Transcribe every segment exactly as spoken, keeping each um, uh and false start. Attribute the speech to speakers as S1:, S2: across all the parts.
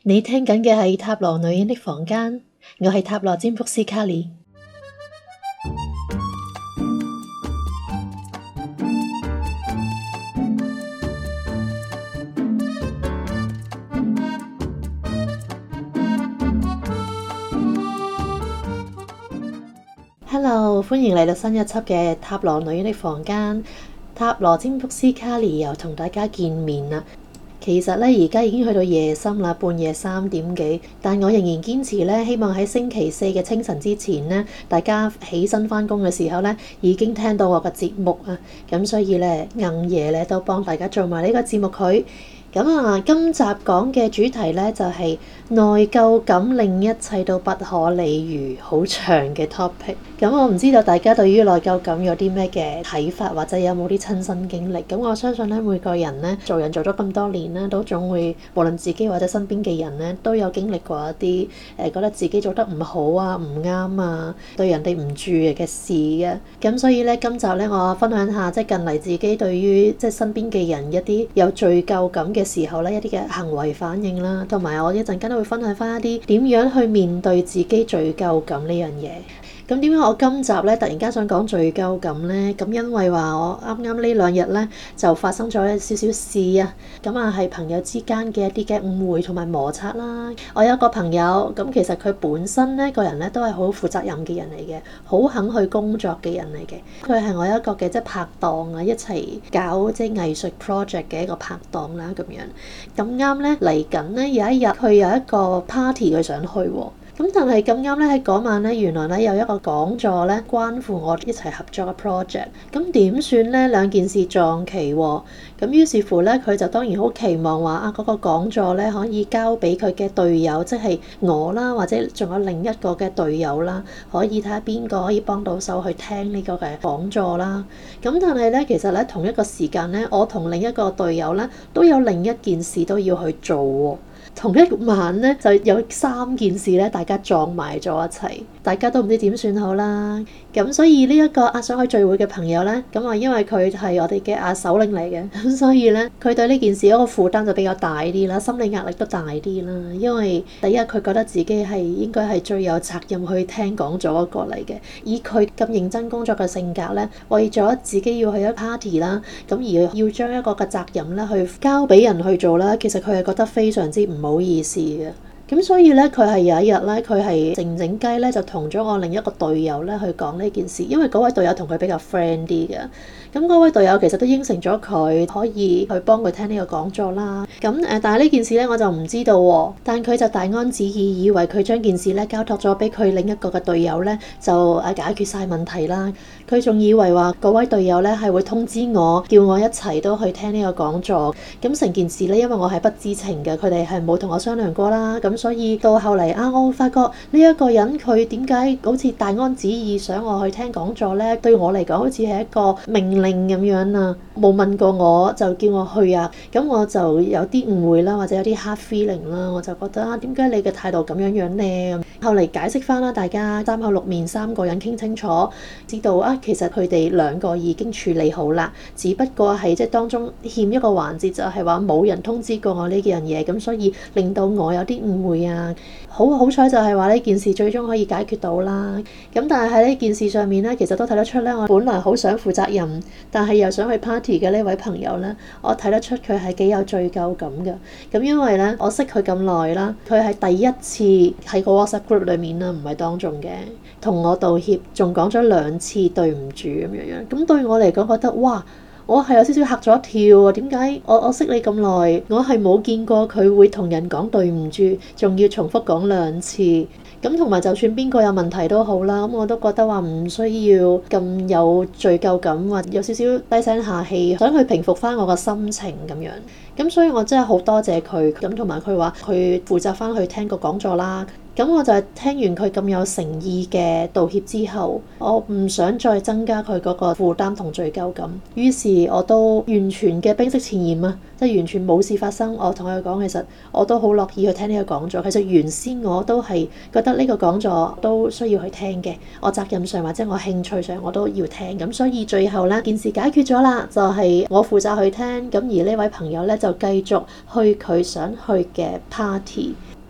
S1: 你聽緊嘅係塔羅女人的房間，我係塔羅占卜師卡莉。Hello， 歡迎嚟到新一輯嘅塔羅女人的房間，塔羅占卜師卡莉又同大家見面啦。其實咧，而家已經去到夜深啦，半夜三點幾，但我仍然堅持咧，希望喺星期四嘅清晨之前咧，大家起身返工嘅時候咧，已經聽到我嘅節目啊。咁所以咧，硬夜咧都幫大家做埋呢個節目佢。咁啊，今集講嘅主題咧就係內疚感令一切都不可理喻，好長嘅 topic。咁我唔知道大家對於內疚感有啲咩嘅睇法，或者有冇啲親身經歷。咁我相信咧，每個人咧做人做咗咁多年咧，都總會無論自己或者身邊嘅人咧，都有經歷過一啲誒覺得自己做得唔好啊、唔啱啊、對人哋唔住嘅事嘅。咁所以咧，今集咧我分享下即係近嚟自己對於即係身邊嘅人一啲有罪疚感嘅時候咧，一啲嘅行為反應啦，同埋我一陣間都會分享翻一啲點樣去面對自己罪疚感呢樣嘢。咁點解我今集咧突然間想講罪疚感呢？咁因為話我啱啱呢兩日咧就發生咗一少少事啊，咁啊係朋友之間嘅一啲嘅誤會同埋摩擦啦。我有一個朋友，咁其實佢本身咧個人咧都係好負責任嘅人嚟嘅，好肯去工作嘅人嚟嘅。佢係我一個嘅即係拍檔啊，一齊搞即係藝術 project 嘅一個拍檔啦咁樣。咁啱咧嚟緊咧有一日佢有一個 party 佢想去喎。咁但係咁啱咧喺嗰晚咧，原來咧有一個講座咧，關乎我一齊合作嘅 project。咁點算咧？兩件事撞期喎。咁於是乎咧，佢就當然好期望話啊，嗰個講座咧可以交俾佢嘅隊友，即係我啦，或者仲有另一個嘅隊友啦，可以睇下邊個可以幫到手去聽呢個嘅講座啦。咁但係咧，其實咧同一個時間咧，我同另一個隊友咧都有另一件事都要去做喎。同一晚咧就有三件事咧，大家撞埋咗一齊，大家都唔知點算好啦。咁所以呢一個啊想去聚會嘅朋友咧，咁啊因為佢係我哋嘅啊首領嚟嘅，咁所以咧佢對呢件事嗰個負擔就比較大啲啦，心理壓力都大啲啦。因為第一佢覺得自己係應該係最有責任去聽講座嗰個嚟嘅，以佢咁認真工作嘅性格咧，為咗自己要去一 party 啦，咁而要將一個嘅責任咧去交俾人去做啦，其實佢係覺得非常之唔好意思嘅。咁所以咧，佢係有一日咧，佢係靜靜雞咧，就同咗我另一個隊友咧去講呢件事，因為嗰位隊友同佢比較 friend 啲嘅。咁嗰位隊友其實都應承咗佢可以去幫佢聽呢個講座啦。咁誒，但係呢件事咧我就唔知道喎。但佢就大安旨意，以為佢將件事咧交託咗俾佢另一個嘅隊友咧，就誒解決晒問題啦。佢仲以為話嗰位隊友咧係會通知我，叫我一齊都去聽呢個講座。咁成件事咧，因為我係不知情嘅，佢哋係冇同我商量過啦。咁所以到後嚟啊，我發覺呢一個人佢點解好似大安旨意想我去聽講座咧？對我嚟講好似係一個命令咁樣啊，冇問過我就叫我去啊。咁我就有啲誤會啦，或者有啲 hard feeling 啦，我就覺得啊，點解你嘅態度咁樣樣呢？後嚟解釋翻啦，大家三口六面三個人傾清楚，知道啊，其實佢哋兩個已經處理好啦，只不過係即係當中欠一個環節，就係話冇人通知過我呢樣嘢，咁所以令到我有啲誤會啊。好好彩就係話呢件事最終可以解決到啦。咁但係喺呢件事上面咧，其實都睇得出咧，我本來好想負責任，但係又想去 party 嘅呢位朋友咧，我睇得出佢係幾有罪疚感嘅。咁因為咧，我識佢咁耐啦，佢係第一次喺個 WhatsApp group 裏面啦，唔係當眾嘅，同我道歉，仲講咗兩次對唔住咁樣樣。咁對我嚟講覺得哇！我係有少少嚇咗一跳啊！點解我我識你咁耐，我係冇見過佢會同人講對唔住，仲要重複講兩次。咁同埋就算邊個有問題都好啦，咁我都覺得話唔需要咁有罪疚感，或有少少低聲下氣，想去平復翻我個心情咁樣。咁所以我真係好多謝佢，咁同埋佢話佢負責翻去聽個講座啦。咁我就係聽完佢咁有誠意嘅道歉之後，我唔想再增加佢嗰個負擔同罪疚感，於是我都完全嘅冰釋前嫌啊，即係完全冇事發生。我同佢講，其實我都好樂意去聽呢個講座。其實原先我都係覺得呢個講座都需要去聽嘅，我責任上或者我興趣上我都要聽。咁所以最後呢件事解決咗啦，就係我負責去聽，咁而呢位朋友呢，就繼續去佢想去嘅 party。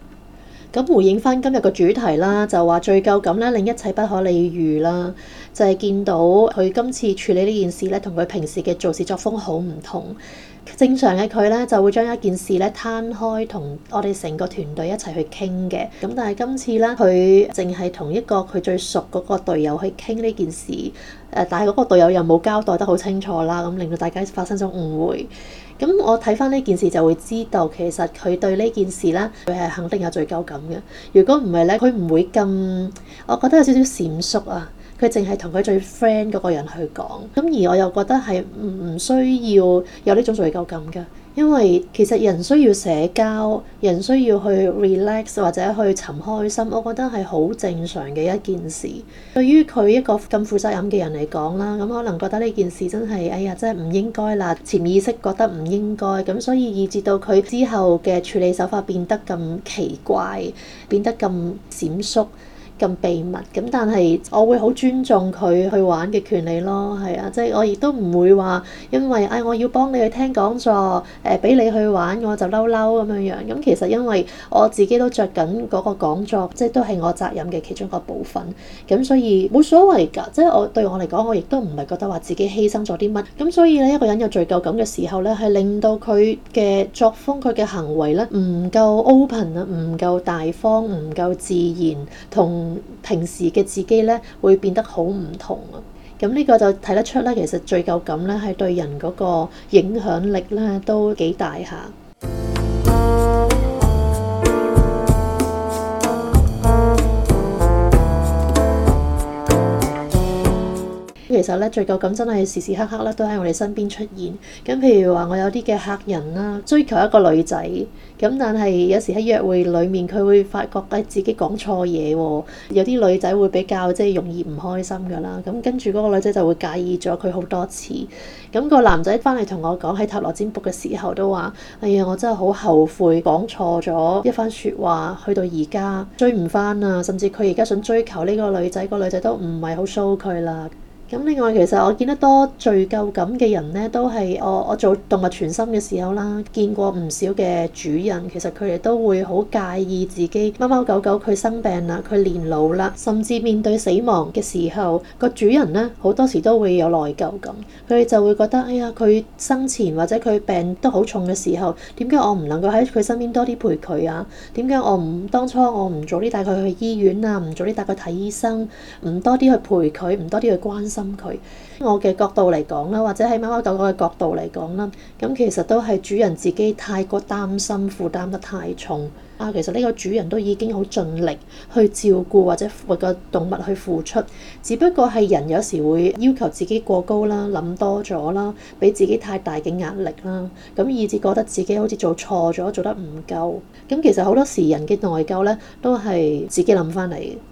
S1: 咁回應翻今日個主題啦，就話罪疚感咧令一切不可理喻啦，就係見到佢今次處理呢件事咧，同佢平時嘅做事作風好唔同。正常嘅佢咧就會將一件事咧攤開，同我哋成個團隊一齊去傾嘅。咁但係今次咧，佢淨係同一個佢最熟嗰個隊友去傾呢件事。誒，但係嗰個隊友又冇交代得好清楚啦，咁令到大家發生咗誤會。咁我睇翻呢件事就會知道，其實佢對呢件事咧，佢係肯定有罪疚感嘅。如果唔係咧，佢唔會咁，我覺得有少少閃縮啊。佢淨係同佢最 friend 嗰個人去講，咁而我又覺得係唔需要有呢種罪疚感㗎，因為其實人需要社交，人需要去 relax 或者去尋開心，我覺得係好正常嘅一件事。對於佢一個咁負責任嘅人嚟講啦，咁可能覺得呢件事真係，哎呀，真係唔應該啦，潛意識覺得唔應該，咁所以以至到佢之後嘅處理手法變得咁奇怪，變得咁閃縮。咁秘密咁，但係我會好尊重佢去玩嘅權利咯，係啊，即係我亦都唔會話因為唉、哎、我要幫你去聽講座，誒俾你去玩我就嬲嬲咁樣樣。咁其實因為我自己都着緊嗰個講座，即係都係我責任嘅其中一個部分，咁所以冇所謂㗎。即係我對我嚟講，我亦都唔係覺得話自己犧牲咗啲乜。咁所以咧，一個人有罪疚感嘅時候咧，係令到佢嘅作風、佢嘅行為咧唔夠 open 啊，唔夠大方，唔夠自然，同平時嘅自己咧會變得好唔同啊！咁呢個就睇得出咧，其實罪疚感咧係對人嗰個影響力咧都幾大下。其實咧，罪疚感真係時時刻刻咧都喺我哋身邊出現。咁譬如話，我有啲嘅客人啦，追求一個女仔，咁但係有時喺約會裡面，佢會發覺誒自己講錯嘢喎。有啲女仔會比較即係容易唔開心㗎啦。咁跟住嗰個女仔就會介意咗佢好多次。咁個男仔翻嚟同我講喺塔羅占卜嘅時候都話：哎呀，我真係好後悔講錯咗一番説話，去到而家追唔翻啊！甚至佢而家想追求呢個女仔，個女仔都唔係好 show 佢啦。咁另外，其實我見得多罪疚感嘅人呢，都係我我做動物傳心嘅時候啦，見過唔少嘅主人，其實佢哋都會好介意自己貓貓狗狗佢生病啦，佢年老啦，甚至面對死亡嘅時候，個主人呢好多時都會有內疚感，佢哋就會覺得，哎呀，佢生前或者佢病得好重嘅時候，點解我唔能夠喺佢身邊多啲陪佢啊？點解我唔當初我唔早啲帶佢去醫院啊？唔早啲帶佢睇醫生，唔多啲去陪佢，唔多啲去關心佢。我嘅角度嚟講啦，或者喺貓貓狗狗嘅角度嚟講啦，咁其實都係主人自己太過擔心，負擔得太重啊。其實呢個主人都已經好盡力去照顧或者為個動物去付出，只不過係人有時會要求自己過高啦，諗多咗啦，俾自己太大嘅壓力啦，咁以至覺得自己好似做錯咗，做得唔夠。咁其實好多時人嘅內疚咧，都係自己諗翻嚟嘅。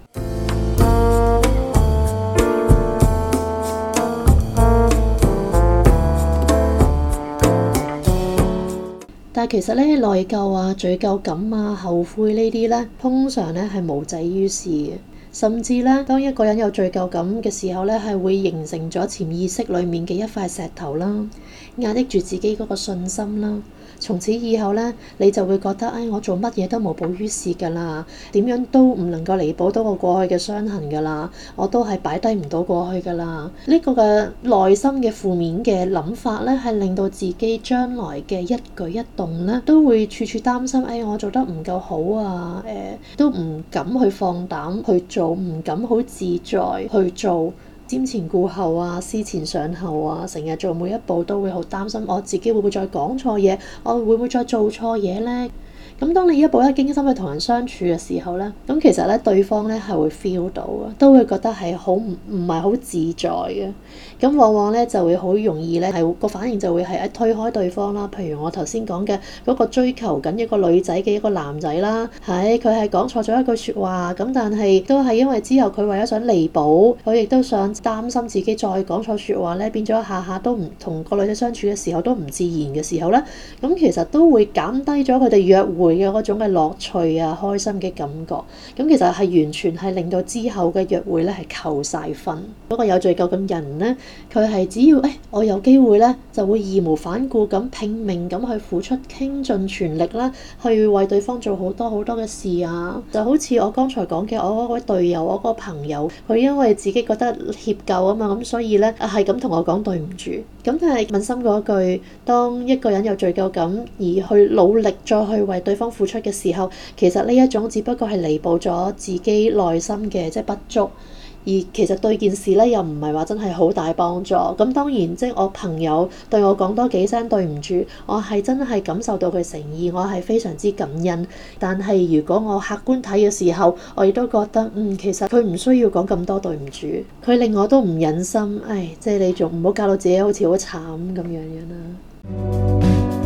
S1: 但係其實咧，內疚啊、罪疚感啊、後悔呢啲咧，通常咧係無濟於事嘅。甚至咧，當一個人有罪疚感嘅時候咧，係會形成咗潛意識裡面嘅一塊石頭啦，壓抑住自己嗰個信心啦。從此以後咧，你就會覺得，唉，我做乜嘢都無補於事㗎啦，點樣都唔能夠彌補到我過去嘅傷痕㗎啦，我都係擺低唔到過去㗎啦。呢個嘅內心嘅負面嘅諗法咧，係令到自己將來嘅一舉一動咧，都會處處擔心，唉，我做得唔夠好啊，誒，都唔敢去放膽去做，唔敢好自在去做。瞻前顧後啊，思前想後啊，成日做每一步都會好擔心，我自己會唔會再講錯嘢？我會唔會再做錯嘢呢？咁當你一步一驚心去同人相處嘅時候咧，咁其實咧對方咧係會 feel 到嘅，都會覺得係好唔唔係好自在嘅。咁往往咧就會好容易咧係個反應就會係一推開對方啦。譬如我頭先講嘅嗰個追求緊一個女仔嘅一個男仔啦，係佢係講錯咗一句説話，咁但係都係因為之後佢為咗想彌補，佢亦都想擔心自己再講錯説話咧，變咗下下都唔同個女仔相處嘅時候都唔自然嘅時候咧，咁其實都會減低咗佢哋約會會嘅嗰種嘅樂趣啊、開心嘅感覺，咁其實係完全係令到之後嘅約會咧係扣晒分。嗰個有罪疚感人咧，佢係只要誒、哎、我有機會咧，就會義無反顧咁拼命咁去付出，傾盡全力啦，去為對方做好多好多嘅事啊。就好似我剛才講嘅，我嗰位隊友，我嗰個朋友，佢因為自己覺得歉疚啊嘛，咁所以咧係咁同我講對唔住。咁但係問心嗰句，當一個人有罪疚感而去努力再去為對方付出嘅時候，其實呢一種只不過係彌補咗自己內心嘅即係不足。而其實對件事咧又唔係話真係好大幫助。咁當然即係我朋友對我講多幾聲對唔住，我係真係感受到佢誠意，我係非常之感恩。但係如果我客觀睇嘅時候，我亦都覺得嗯，其實佢唔需要講咁多對唔住，佢令我都唔忍心。唉，即係你仲唔好搞到自己好似好慘咁樣樣啦。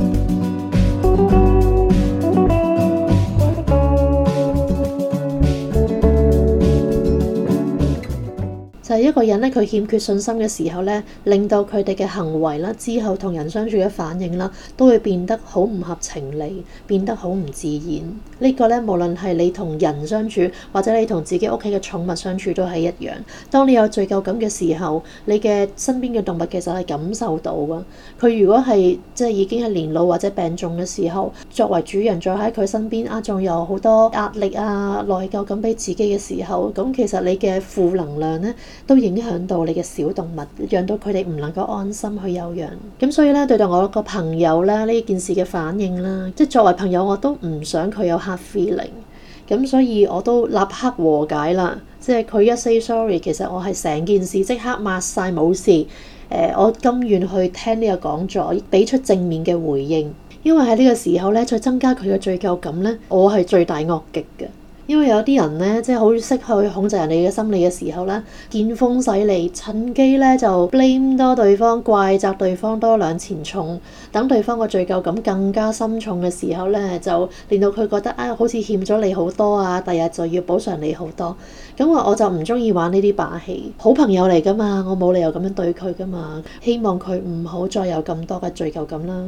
S1: 就係一個人咧，佢欠缺信心嘅時候咧，令到佢哋嘅行為啦，之後同人相處嘅反應啦，都會變得好唔合情理，變得好唔自然。呢個咧，無論係你同人相處，或者你同自己屋企嘅寵物相處都係一樣。當你有罪疚感嘅時候，你嘅身邊嘅動物其實係感受到㗎。佢如果係即係已經係年老或者病重嘅時候，作為主人再喺佢身邊啊，仲有好多壓力啊、內疚感俾自己嘅時候，咁其實你嘅負能量咧，都影響到你嘅小動物，讓到佢哋唔能夠安心去休養。咁所以咧，對待我個朋友咧呢件事嘅反應啦，即係作為朋友我都唔想佢有 hard feeling。咁所以我都立刻和解啦。即係佢一 say sorry，其實我係成件事即刻抹晒冇事。誒、呃，我甘願去聽呢個講座，俾出正面嘅回應。因為喺呢個時候咧，再增加佢嘅罪疚感咧，我係罪大惡極嘅。因為有啲人咧，即係好識去控制人哋嘅心理嘅時候咧，見風使嚟，趁機咧就 blame 多對方，怪責對方多兩錢重，等對方個罪疚感更加深重嘅時候咧，就令到佢覺得啊、哎，好似欠咗你好多啊，第日就要補償你好多。咁我我就唔中意玩呢啲把戲，好朋友嚟噶嘛，我冇理由咁樣對佢噶嘛，希望佢唔好再有咁多嘅罪疚感啦。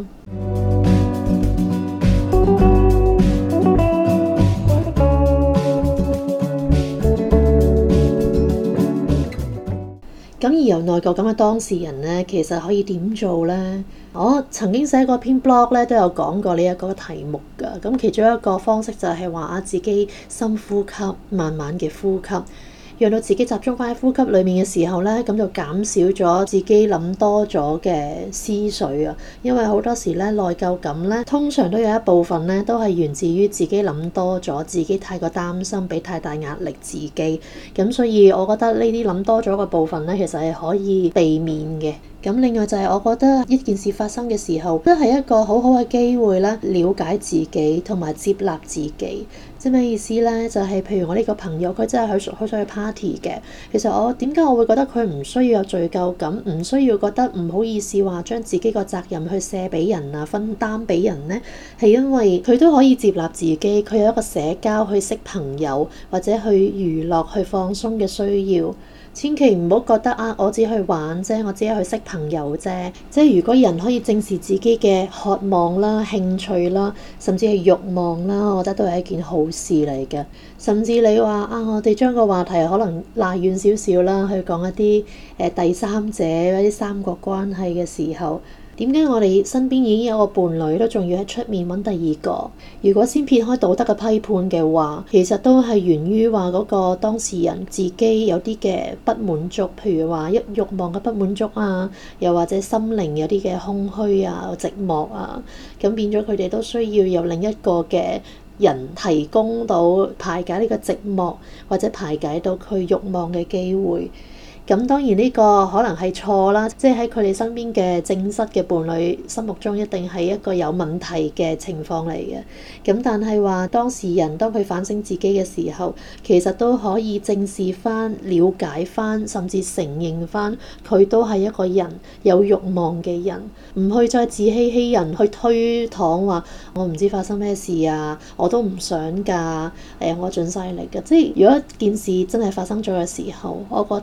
S1: 咁而由內疚感嘅當事人咧，其實可以點做咧？我曾經寫過篇 blog 咧，都有講過呢一個題目㗎。咁其中一個方式就係話啊，自己深呼吸，慢慢嘅呼吸。讓到自己集中翻喺呼吸裏面嘅時候咧，咁就減少咗自己諗多咗嘅思緒啊。因為好多時咧，內疚感咧，通常都有一部分咧，都係源自於自己諗多咗，自己太過擔心，俾太大壓力自己。咁所以我覺得呢啲諗多咗嘅部分咧，其實係可以避免嘅。咁另外就係我覺得一件事發生嘅時候，都係一個好好嘅機會啦，了解自己同埋接納自己。即係咩意思咧？就係譬如我呢個朋友，佢真係去好想去 party 嘅。其實我點解我會覺得佢唔需要有罪疚感，唔需要覺得唔好意思話將自己個責任去卸俾人啊，分擔俾人咧？係因為佢都可以接納自己，佢有一個社交去識朋友或者去娛樂去放鬆嘅需要。千祈唔好覺得啊，我只去玩啫，我只係去識朋友啫。即係如果人可以正視自己嘅渴望啦、興趣啦，甚至係慾望啦，我覺得都係一件好事嚟嘅。甚至你話啊，我哋將個話題可能拉遠少少啦，去講一啲誒、呃、第三者或者三角關係嘅時候。點解我哋身邊已經有個伴侶都仲要喺出面揾第二個？如果先撇開道德嘅批判嘅話，其實都係源於話嗰個當事人自己有啲嘅不滿足，譬如話一慾望嘅不滿足啊，又或者心靈有啲嘅空虛啊、寂寞啊，咁變咗佢哋都需要有另一個嘅人提供到排解呢個寂寞或者排解到佢慾望嘅機會。咁當然呢個可能係錯啦，即係喺佢哋身邊嘅正室嘅伴侶心目中一定係一個有問題嘅情況嚟嘅。咁但係話當事人當佢反省自己嘅時候，其實都可以正視翻、了解翻，甚至承認翻佢都係一個人有慾望嘅人，唔去再自欺欺人，去推搪話我唔知發生咩事啊，我都唔想㗎，誒我盡晒力㗎。即係如果件事真係發生咗嘅時候，我覺得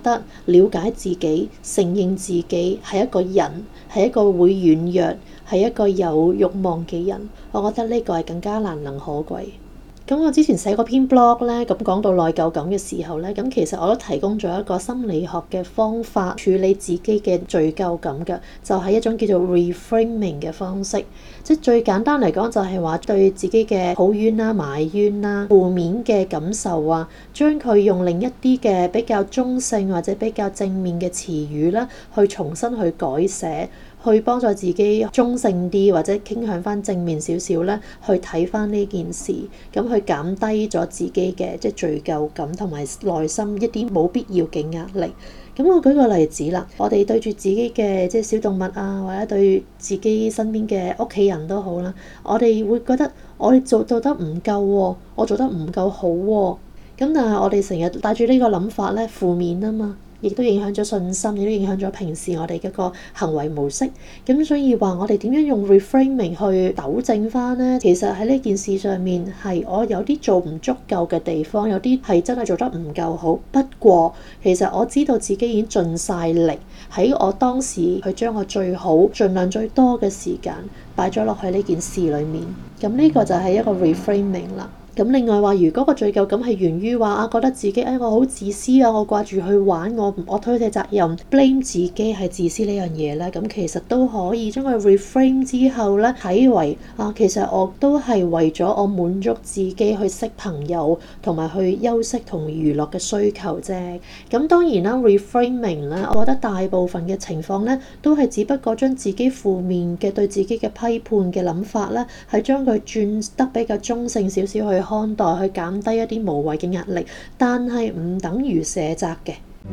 S1: 了解自己，承認自己係一個人，係一個會軟弱，係一個有慾望嘅人。我覺得呢個係更加難能可貴。咁我之前寫嗰篇 blog 咧，咁講到內疚感嘅時候咧，咁其實我都提供咗一個心理學嘅方法處理自己嘅罪疚感嘅，就係一種叫做 reframing 嘅方式。即係最簡單嚟講，就係話對自己嘅抱怨啦、埋怨啦、負面嘅感受啊，將佢用另一啲嘅比較中性或者比較正面嘅詞語啦，去重新去改寫。去幫助自己中性啲或者傾向翻正面少少咧，去睇翻呢件事，咁去減低咗自己嘅即係罪疚感同埋內心一啲冇必要嘅壓力。咁我舉個例子啦，我哋對住自己嘅即係小動物啊，或者對自己身邊嘅屋企人都好啦，我哋會覺得我哋做做得唔夠喎，我做得唔夠好喎。咁但係我哋成日帶住呢個諗法咧，負面啊嘛。亦都影響咗信心，亦都影響咗平時我哋嘅個行為模式。咁所以話我哋點樣用 reframing 去糾正翻呢？其實喺呢件事上面係我有啲做唔足夠嘅地方，有啲係真係做得唔夠好。不過其實我知道自己已經盡晒力喺我當時去將我最好、盡量最多嘅時間擺咗落去呢件事裡面。咁呢個就係一個 reframing 啦。咁另外話，如果個罪疚感係源於話啊，覺得自己誒、哎、我好自私啊，我掛住去玩，我我推卸責任 blame 自己係自私呢樣嘢咧，咁其實都可以將佢 reframe 之後咧，睇為啊，其實我都係為咗我滿足自己去識朋友同埋去休息同娛樂嘅需求啫。咁當然啦 reframing 咧，我覺得大部分嘅情況咧，都係只不過將自己負面嘅對自己嘅批判嘅諗法咧，係將佢轉得比較中性少少去看待，去減低一啲無謂嘅壓力，但係唔等於卸責嘅。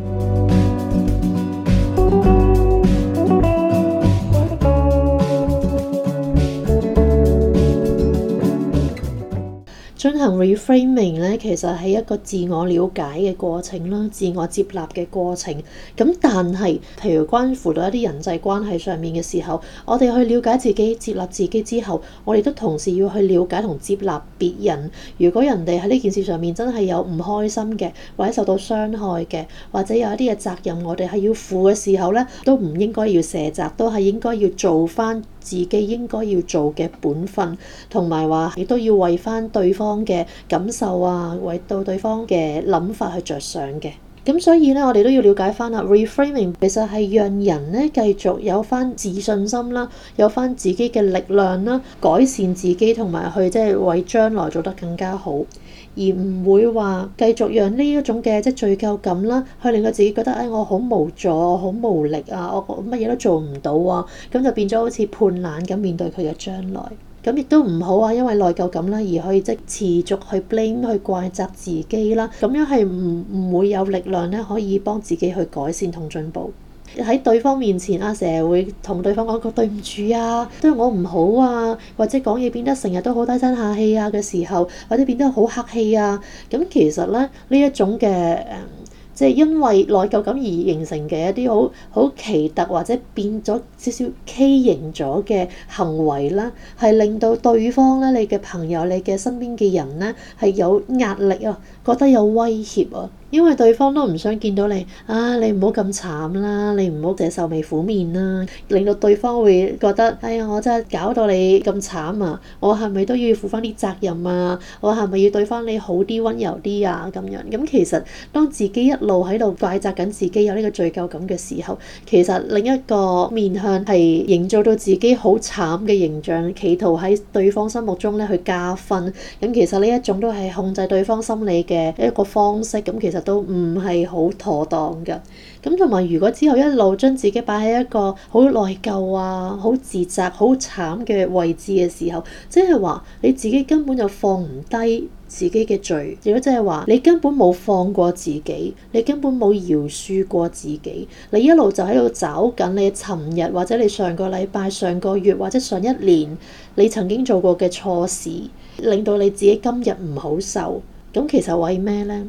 S1: 進行 reframing 咧，其實係一個自我了解嘅過程啦，自我接納嘅過程。咁但係，譬如關乎到一啲人際關係上面嘅時候，我哋去了解自己、接納自己之後，我哋都同時要去了解同接納別人。如果人哋喺呢件事上面真係有唔開心嘅，或者受到傷害嘅，或者有一啲嘅責任我哋係要負嘅時候咧，都唔應該要卸責，都係應該要做翻自己應該要做嘅本分，同埋話亦都要為翻對方嘅感受啊，為到對方嘅諗法去着想嘅。咁所以咧，我哋都要了解翻啦。reframing 其實係讓人咧繼續有翻自信心啦，有翻自己嘅力量啦，改善自己同埋去即係為將來做得更加好，而唔會話繼續讓呢一種嘅即係罪疚感啦，去令到自己覺得誒、哎、我好無助，我好無力啊，我乜嘢都做唔到啊，咁就變咗好似判懶咁面對佢嘅將來。咁亦都唔好啊，因為內疚感啦，而去即持續去 blame 去怪責自己啦，咁樣係唔唔會有力量咧，可以幫自己去改善同進步。喺對方面前啊，成日會同對方講個對唔住啊，對我唔好啊，或者講嘢變得成日都好低聲下氣啊嘅時候，或者變得好客氣啊，咁其實咧呢一種嘅誒。即係因為內疚感而形成嘅一啲好好奇特或者變咗少少畸形咗嘅行為啦，係令到對方咧、你嘅朋友、你嘅身邊嘅人咧係有壓力啊，覺得有威脅啊，因為對方都唔想見到你啊，你唔好咁慘啦，你唔好淨係愁眉苦面啦，令到對方會覺得哎呀，我真係搞到你咁慘啊，我係咪都要負翻啲責任啊？我係咪要對翻你好啲、溫柔啲啊？咁樣咁其實當自己一路喺度怪責緊自己有呢個罪疚感嘅時候，其實另一個面向係營造到自己好慘嘅形象，企圖喺對方心目中咧去加分。咁其實呢一種都係控制對方心理嘅一個方式，咁其實都唔係好妥當㗎。咁同埋如果之後一路將自己擺喺一個好內疚啊、好自責、好慘嘅位置嘅時候，即係話你自己根本就放唔低自己嘅罪，如果即係話你根本冇放過自己，你根本冇饒恕過自己，你一路就喺度找緊你尋日或者你上個禮拜、上個月或者上一年你曾經做過嘅錯事，令到你自己今日唔好受。咁其實為咩呢？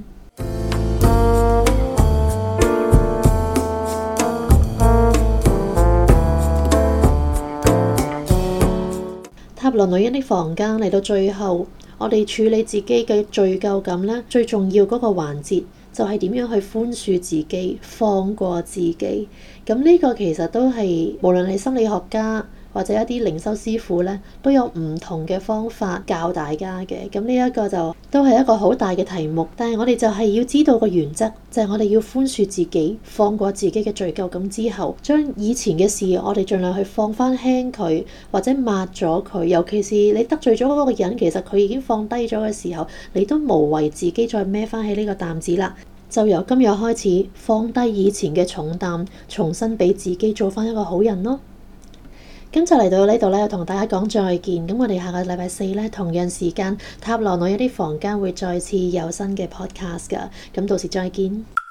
S1: 塔羅女人的房間嚟到最後，我哋處理自己嘅罪疚感咧，最重要嗰個環節就係點樣去寬恕自己、放過自己。咁呢個其實都係無論係心理學家或者一啲靈修師傅咧，都有唔同嘅方法教大家嘅。咁呢一個就都係一個好大嘅題目，但係我哋就係要知道個原則，就係我哋要寬恕自己、放過自己嘅罪疚感之後，將以前嘅事我哋盡量去放翻輕佢，或者抹咗佢。尤其是你得罪咗嗰個人，其實佢已經放低咗嘅時候，你都無謂自己再孭翻起呢個擔子啦。就由今日開始放低以前嘅重擔，重新俾自己做翻一個好人咯。咁就嚟到呢度咧，同大家講再見。咁我哋下個禮拜四咧，同樣時間塔羅女人的房間會再次有新嘅 podcast 噶。咁到時再見。